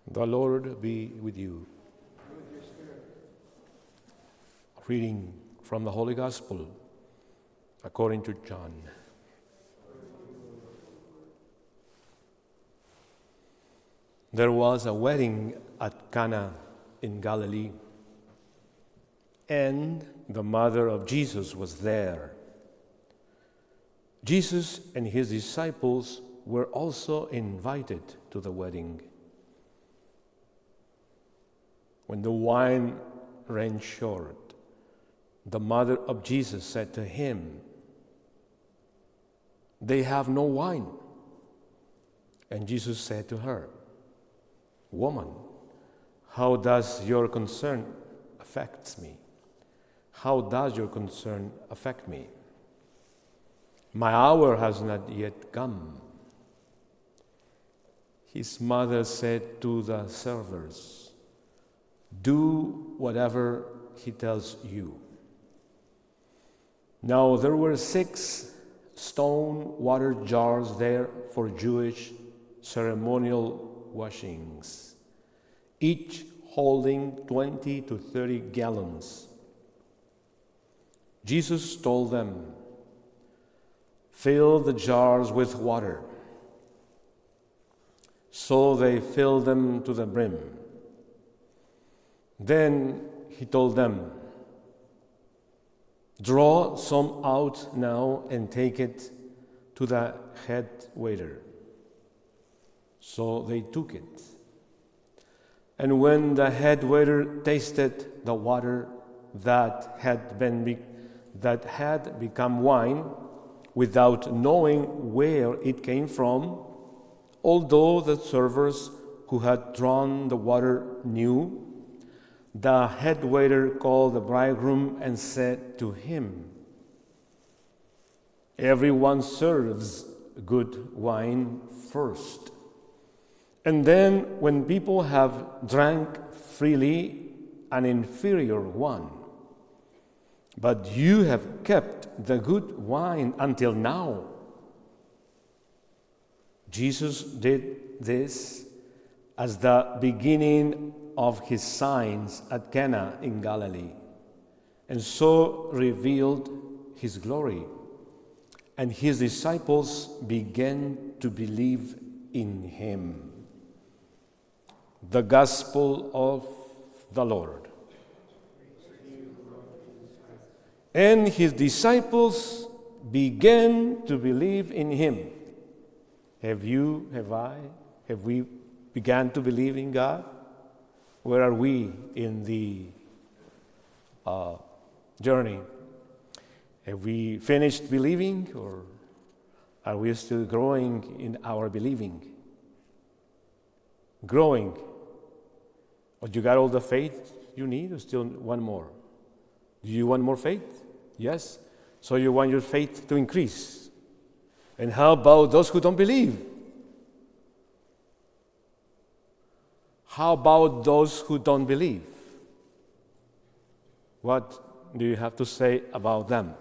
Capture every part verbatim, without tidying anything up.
The Lord be with you. Reading from the Holy Gospel according to John. There was a wedding at Cana in Galilee, and the mother of Jesus was there. Jesus and his disciples were also invited to the wedding. When the wine ran short, the mother of Jesus said to him, "They have no wine." And Jesus said to her, "Woman, how does your concern affect me? How does your concern affect me? My hour has not yet come." His mother said to the servers, "Do whatever he tells you." Now there were six stone water jars there for Jewish ceremonial washings, each holding twenty to thirty gallons. Jesus told them, "Fill the jars with water." So they filled them to the brim. Then he told them, "Draw some out now and take it to the head waiter." So they took it. And when the head waiter tasted the water that had been be- that had become wine, without knowing where it came from, although the servers who had drawn the water knew, the head waiter called the bridegroom and said to him, "Everyone serves good wine first, and then when people have drank freely, an inferior one. But you have kept the good wine until now." Jesus did this as the beginning of his signs at Cana in Galilee, and so revealed his glory, and his disciples began to believe in him. The Gospel of the Lord. And his disciples began to believe in him. Have you, have I, have we begun to believe in God? Where are we in the uh, journey? Have we finished believing, or are we still growing in our believing? Growing. But you got all the faith you need, or still one more? Do you want more faith? Yes. So you want your faith to increase. And how about those who don't believe? How about those who don't believe? What do you have to say about them?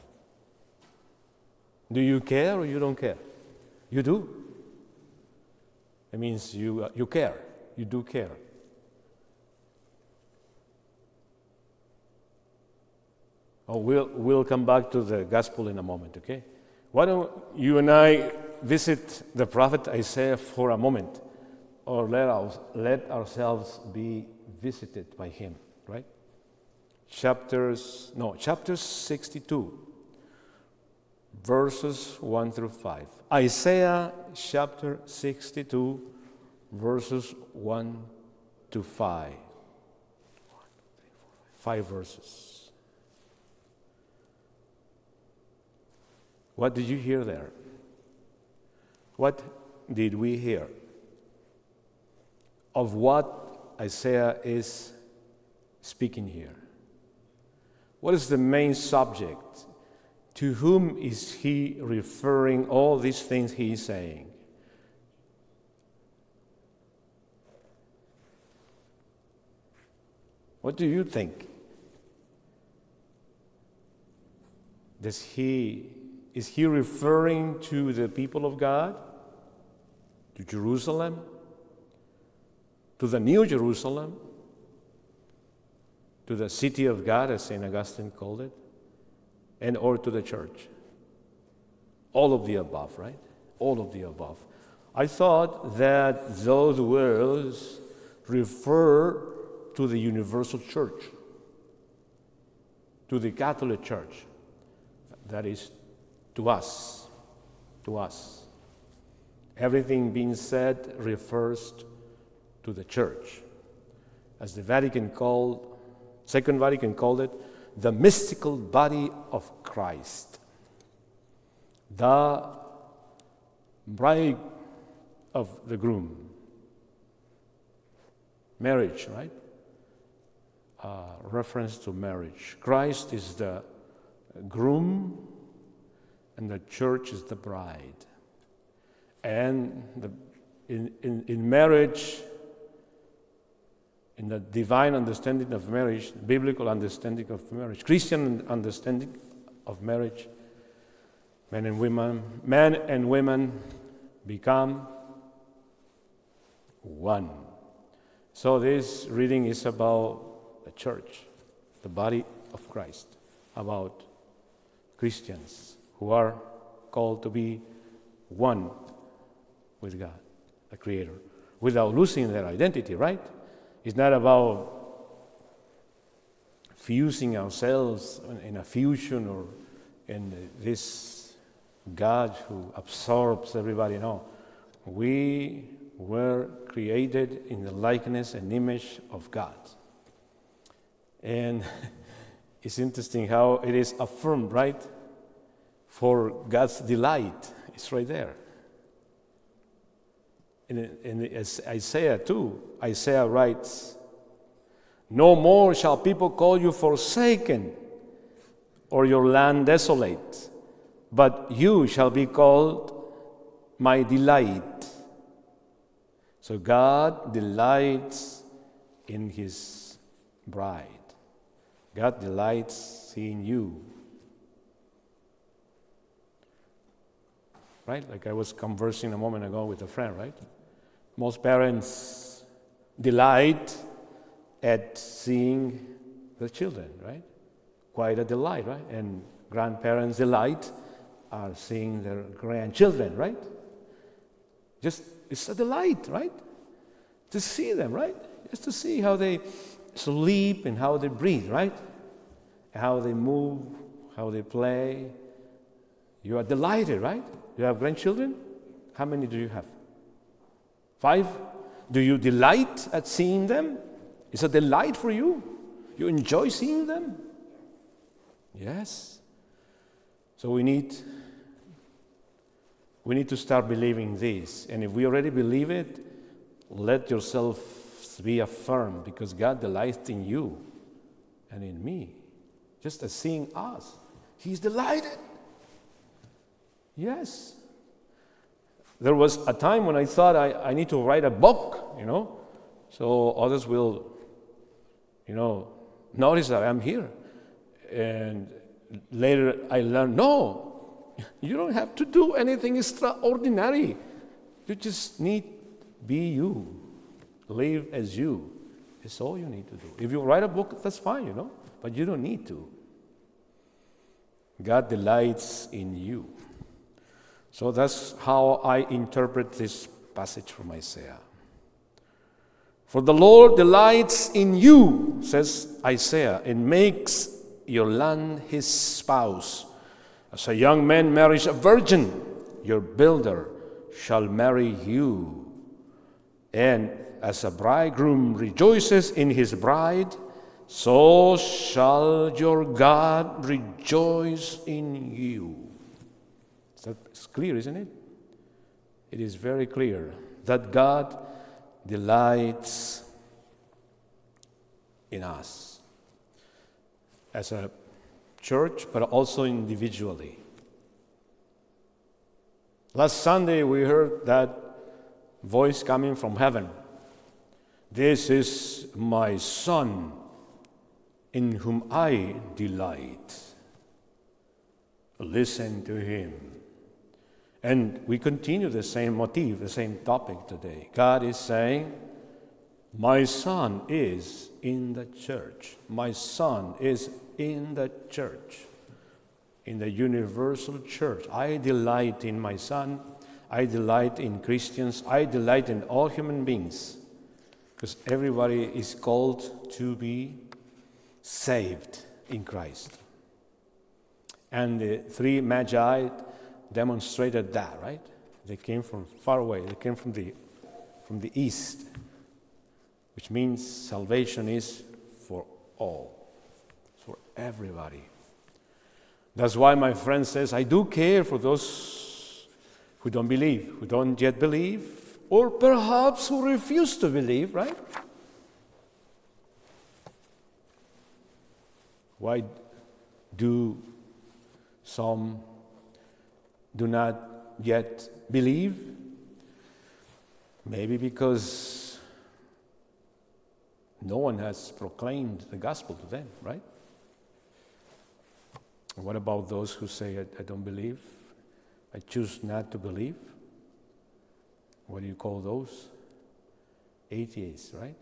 Do you care or you don't care? You do. It means you, uh, you care. You do care. Oh, we'll, we'll come back to the gospel in a moment, okay? Why don't you and I visit the prophet Isaiah for a moment, or let, our, let ourselves be visited by him, right? Chapters, no, chapter sixty-two, verses one through five. Isaiah chapter sixty-two, verses one to five. Five verses. What did you hear there? What did we hear? Of what Isaiah is speaking here. What is the main subject? To whom is he referring all these things he is saying? What do you think? Does he, is he referring to the people of God? To Jerusalem? to the New Jerusalem, to the city of God, as Saint Augustine called it, and or to the church. All of the above, right? All of the above. I thought that those words refer to the universal church, to the Catholic Church. That is, to us, to us. Everything being said refers to the church. As the Vatican called, Second Vatican called it, the mystical body of Christ. The bride of the groom. Marriage, right? Uh, reference to marriage. Christ is the groom and the church is the bride. And the, in, in, in marriage, in the divine understanding of marriage, biblical understanding of marriage, Christian understanding of marriage, men and women, men and women become one. So this reading is about the church, the body of Christ, about Christians who are called to be one with God, the Creator, without losing their identity, right? It's not about fusing ourselves in a fusion or in this God who absorbs everybody. No, we were created in the likeness and image of God. And it's interesting how it is affirmed, right? For God's delight, it's right there. In, in Isaiah two, Isaiah writes, "No more shall people call you forsaken, or your land desolate, but you shall be called my delight." So God delights in His bride. God delights in you. Right? Like I was conversing a moment ago with a friend, right? Most parents delight at seeing their children, right? Quite a delight, right? And grandparents delight are seeing their grandchildren, right? Just, it's a delight, right? To see them, right? Just to see how they sleep and how they breathe, right? How they move, how they play. You are delighted, right? You have grandchildren? How many do you have? Five? Do you delight at seeing them? It's a delight for you. You enjoy seeing them? Yes. So we need we need to start believing this. And if we already believe it, let yourself be affirmed, because God delights in you and in me. Just as seeing us. He's delighted. Yes. There was a time when I thought I, I need to write a book, you know, so others will, you know, notice that I'm here. And later I learned, no, you don't have to do anything extraordinary. You just need to be you. Live as you. That's all you need to do. If you write a book, that's fine, you know, but you don't need to. God delights in you. So that's how I interpret this passage from Isaiah. For the Lord delights in you, says Isaiah, and makes your land his spouse. As a young man marries a virgin, your builder shall marry you. And as a bridegroom rejoices in his bride, so shall your God rejoice in you. That's clear, isn't it? It is very clear that God delights in us as a church, but also individually. Last Sunday, we heard that voice coming from heaven. This is my Son, in whom I delight. Listen to him. And we continue the same motif, the same topic today. God is saying, My son is in the church. My son is in the church, in the universal church. I delight in my son. I delight in Christians. I delight in all human beings, because everybody is called to be saved in Christ. And the three magi demonstrated that, right? They came from far away. They came from the from the east, which means salvation is for all, for everybody. That's why my friend says, I do care for those who don't believe, who don't yet believe, or perhaps who refuse to believe, right? Why do some do not yet believe? Maybe because no one has proclaimed the gospel to them, right? What about those who say, I, I don't believe, I choose not to believe? What do you call those? Atheists, right?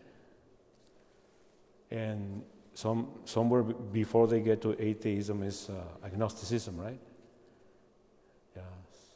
And some somewhere before they get to atheism is uh, agnosticism, right? Yes.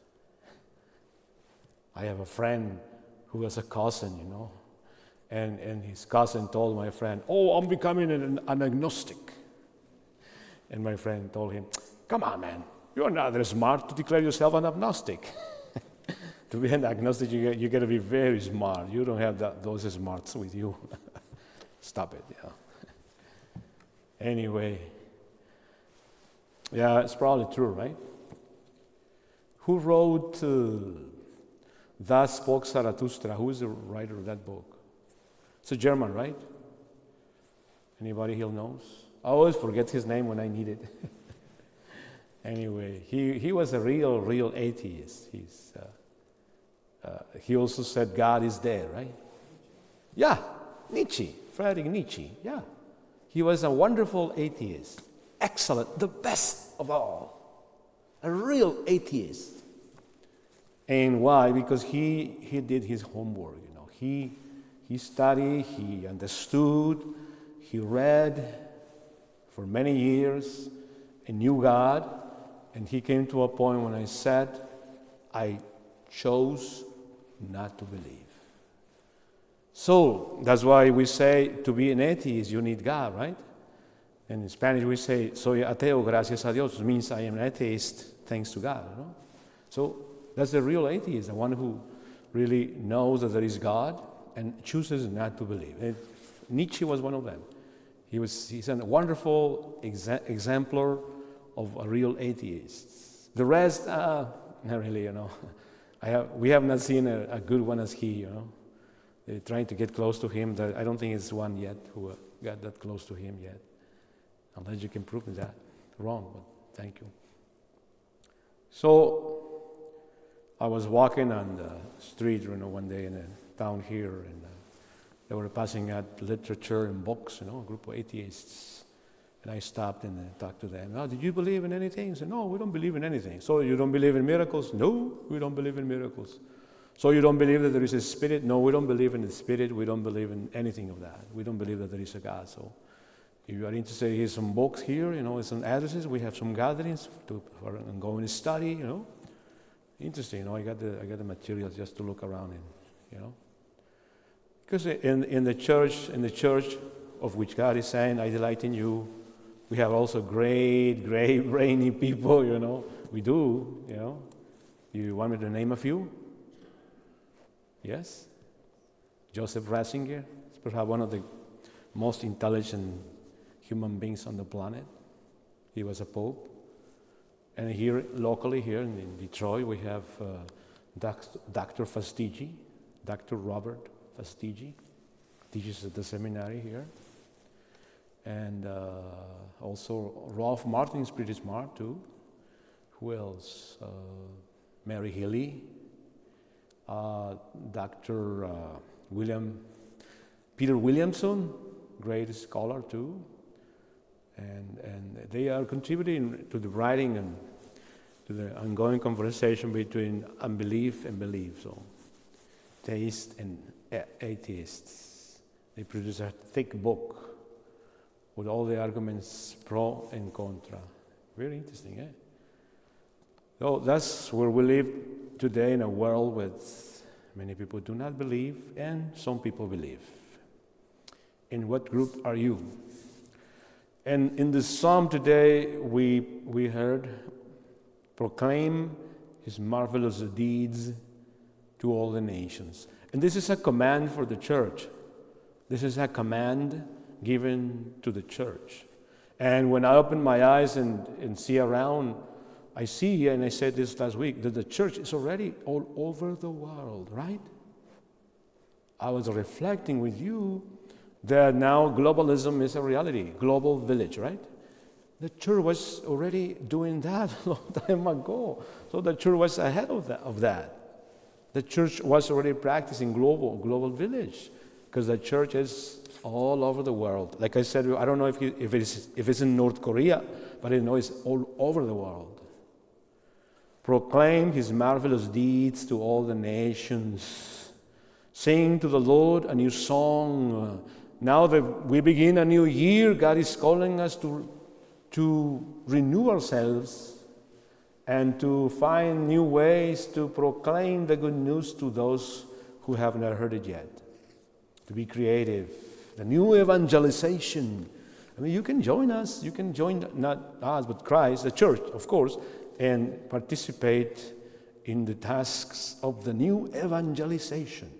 I have a friend who has a cousin, you know, and, and his cousin told my friend, oh, I'm becoming an, an agnostic. And my friend told him, come on, man, you're not that smart to declare yourself an agnostic. To be an agnostic, you, you got to be very smart. You don't have that, those smarts with you. Stop it, yeah. Anyway, yeah, it's probably true, right? Who wrote uh, Thus Spoke Zarathustra? Who is the writer of that book? It's a German, right? Anybody here knows? I always forget his name when I need it. Anyway, he, he was a real, real atheist. He's, uh, uh, he also said God is there, right? Yeah, Nietzsche, Friedrich Nietzsche, yeah. He was a wonderful atheist, excellent, the best of all, a real atheist. And why? Because he, he did his homework, you know. He, he studied, he understood, he read for many years and knew God. And he came to a point when I said, I chose not to believe. So that's why we say to be an atheist, you need God, right? And in Spanish we say, soy ateo gracias a Dios, which means I am an atheist thanks to God. You know? So that's the real atheist, the one who really knows that there is God and chooses not to believe. And Nietzsche was one of them. He was, he's a wonderful exa- exemplar of a real atheist. The rest, uh, not really, you know. I have, we have not seen a, a good one as he, you know. They're trying to get close to him. I don't think it's one yet who got that close to him yet. Unless you can prove that wrong, but thank you. So I was walking on the street, you know, one day in a town here, and uh, they were passing out literature and books, you know, a group of atheists. And I stopped and uh, talked to them. Oh, did you believe in anything? They said, no, we don't believe in anything. So you don't believe in miracles? No, we don't believe in miracles. So you don't believe that there is a spirit? No, we don't believe in the spirit. We don't believe in anything of that. We don't believe that there is a God. So if you are interested, here's some books here, you know, some addresses. We have some gatherings to for, and go and study, you know. Interesting, you know, I got the I got the materials just to look around in, you know. Because in, in the church, in the church of which God is saying, I delight in you, we have also great, great, brainy people, you know. We do, you know. You want me to name a few? Yes? Joseph Ratzinger is perhaps one of the most intelligent human beings on the planet. He was a pope. And here, locally here in, in Detroit, we have uh, Doctor Fastigi, Doctor Robert Fastigi, teaches at the seminary here. And uh, also Rolf Martin is pretty smart too. Who else? Uh, Mary Healy, uh, Doctor Uh, William, Peter Williamson, great scholar too. And, and they are contributing to the writing and to the ongoing conversation between unbelief and belief. So, theists and a- atheists. They produce a thick book with all the arguments pro and contra. Very interesting, eh? So that's where we live today, in a world with many people do not believe and some people believe. In what group are you? And in the psalm today, we we heard, proclaim his marvelous deeds to all the nations. And this is a command for the church. This is a command given to the church. And when I open my eyes and, and see around, I see, and I said this last week, that the church is already all over the world, right? I was reflecting with you that now globalism is a reality, global village, right? The church was already doing that a long time ago. So the church was ahead of that. Of that. The church was already practicing global, global village, because the church is all over the world. Like I said, I don't know if, you, if, it's, if it's in North Korea, but I know it's all over the world. Proclaim his marvelous deeds to all the nations. Sing to the Lord a new song. Now that we begin a new year, God is calling us to, to renew ourselves and to find new ways to proclaim the good news to those who have not heard it yet. To be creative. The new evangelization. I mean, you can join us. You can join not us, but Christ, the church, of course, and participate in the tasks of the new evangelization.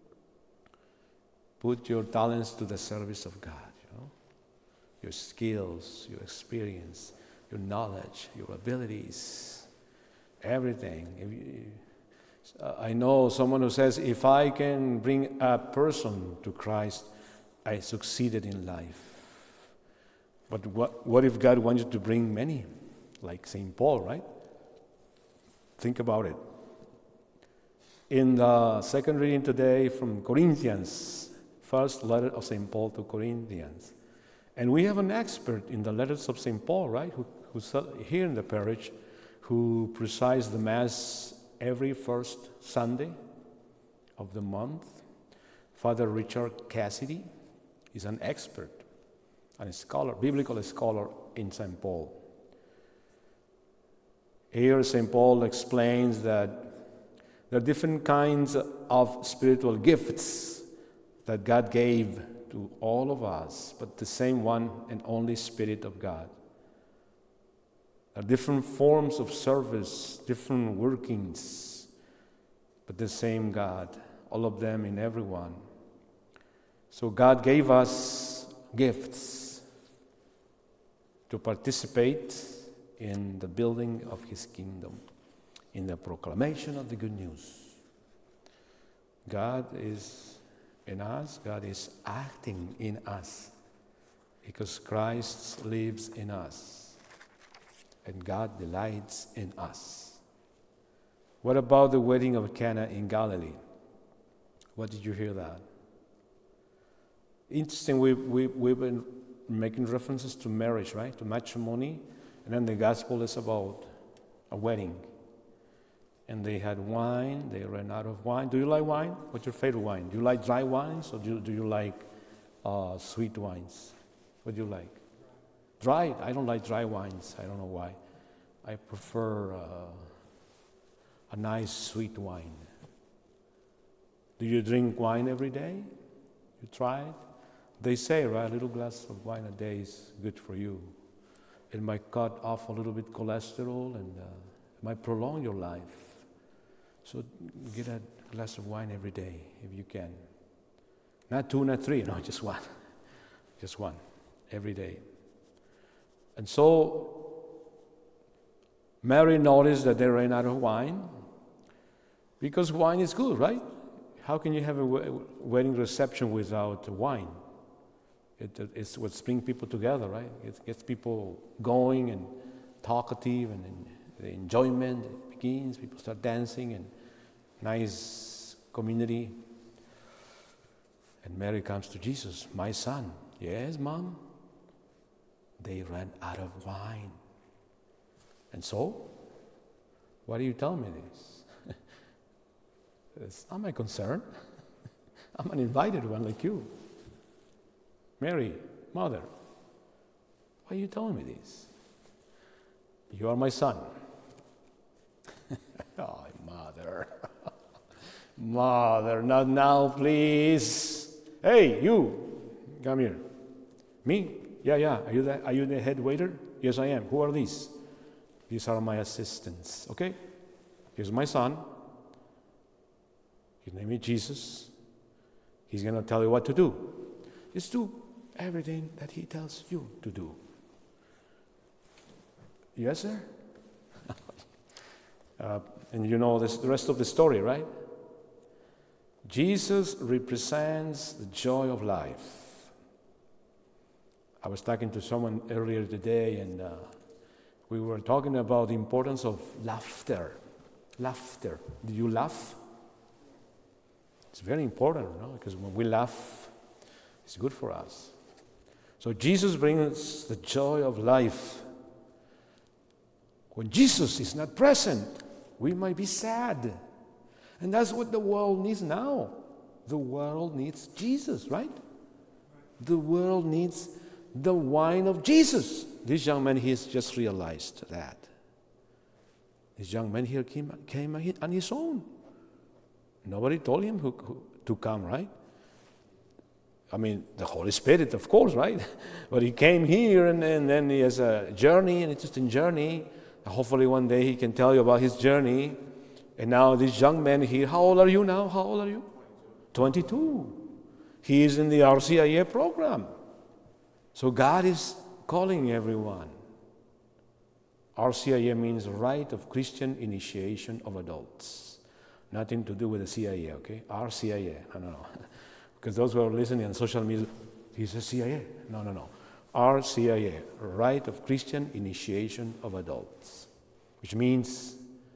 Put your talents to the service of God, you know? Your skills, your experience, your knowledge, your abilities, everything. If you, uh, I know someone who says, if I can bring a person to Christ, I succeeded in life. But what, what if God wants you to bring many? Like Saint Paul, right? Think about it. In the second reading today from Corinthians, first letter of Saint Paul to Corinthians. And we have an expert in the letters of Saint Paul, right? Who, who's here in the parish, who presides the Mass every first Sunday of the month. Father Richard Cassidy is an expert and a scholar, biblical scholar in Saint Paul. Here, Saint Paul explains that there are different kinds of spiritual gifts that God gave to all of us, but the same one and only Spirit of God. There are different forms of service, different workings, but the same God, all of them in everyone. So God gave us gifts to participate in the building of his kingdom, in the proclamation of the good news. God is in us, God is acting in us, because Christ lives in us, and God delights in us. What about the wedding of Cana in Galilee? What did you hear that? Interesting, we, we, we've been making references to marriage, right? To matrimony. And then the gospel is about a wedding. And they had wine, they ran out of wine. Do you like wine? What's your favorite wine? Do you like dry wines or do you, do you like uh, sweet wines? What do you like? Dry? I don't like dry wines. I don't know why. I prefer uh, a nice sweet wine. Do you drink wine every day? You try it? They say, right, a little glass of wine a day is good for you. It might cut off a little bit cholesterol and uh, it might prolong your life. So get a glass of wine every day if you can. Not two, not three, no, just one. Just one, every day. And so Mary noticed that they ran out of wine because wine is good, right? How can you have a wedding reception without wine? It, it's what brings people together, right? It gets people going and talkative, and, and the enjoyment begins. People start dancing and nice community. And Mary comes to Jesus, my son. Yes, Mom. They ran out of wine. And so, why do you tell me this? It's not my concern. I'm an invited one like you. Mary, mother, why are you telling me this? You are my son. Oh, mother. Mother, not now, please. Hey, you, come here. Me? Yeah, yeah. Are you the, are you the head waiter? Yes, I am. Who are these? These are my assistants, okay? Here's my son. His name is Jesus. He's going to tell you what to do. Just do everything that he tells you to do. Yes, sir? uh, and you know this, the rest of the story, right? Jesus represents the joy of life. I was talking to someone earlier today, and uh, we were talking about the importance of laughter. Laughter. Do you laugh? It's very important, no? Because when we laugh, it's good for us. So Jesus brings the joy of life. When Jesus is not present, we might be sad. And that's what the world needs now. The world needs Jesus, right? The world needs the wine of Jesus. This young man, he's just realized that. This young man here came, came on his own. Nobody told him who, who, to come, right? I mean, the Holy Spirit, of course, right? But he came here, and, and then he has a journey, an interesting journey. Hopefully one day he can tell you about his journey. And now this young man here, how old are you now? How old are you? twenty-two. He is in the R C I A program. So God is calling everyone. R C I A means Rite of Christian Initiation of Adults. Nothing to do with the C I A, okay? R C I A, no, no, no. Because those who are listening on social media, he's a C I A. No, no, no. R C I A, Rite of Christian Initiation of Adults, which means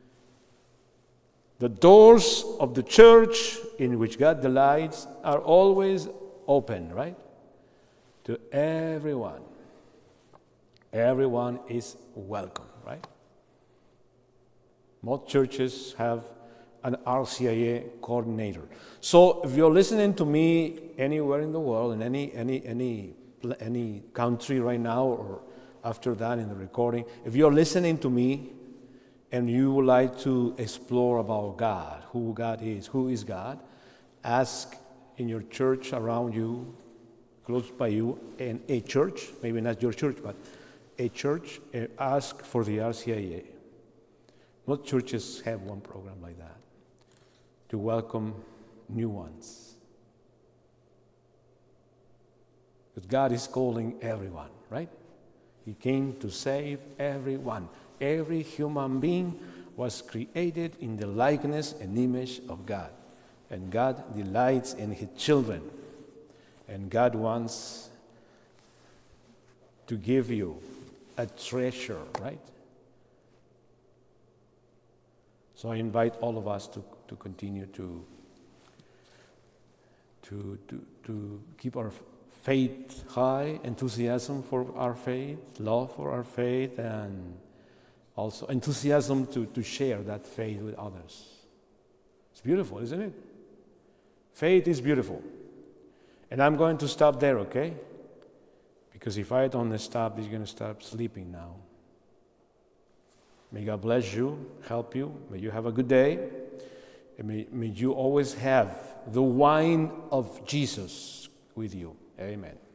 the doors of the church in which God delights are always open, right? To everyone. Everyone is welcome, right? Most churches have an R C I A coordinator. So if you're listening to me anywhere in the world, in any any any any country right now or after that in the recording, if you're listening to me and you would like to explore about God, who God is, who is God, ask in your church around you, close by you, in a church, maybe not your church, but a church, uh, ask for the R C I A. Most churches have one program like that, to welcome new ones. But God is calling everyone, right? He came to save everyone. Every human being was created in the likeness and image of God. And God delights in his children. And God wants to give you a treasure, right? So I invite all of us to, to continue to, to, to, to keep our faith high, enthusiasm for our faith, love for our faith, and also enthusiasm to, to share that faith with others. It's beautiful, isn't it? Faith is beautiful. And I'm going to stop there, okay? Because if I don't stop, he's going to start sleeping now. May God bless you, help you. May you have a good day. And may, may you always have the wine of Jesus with you. Amen.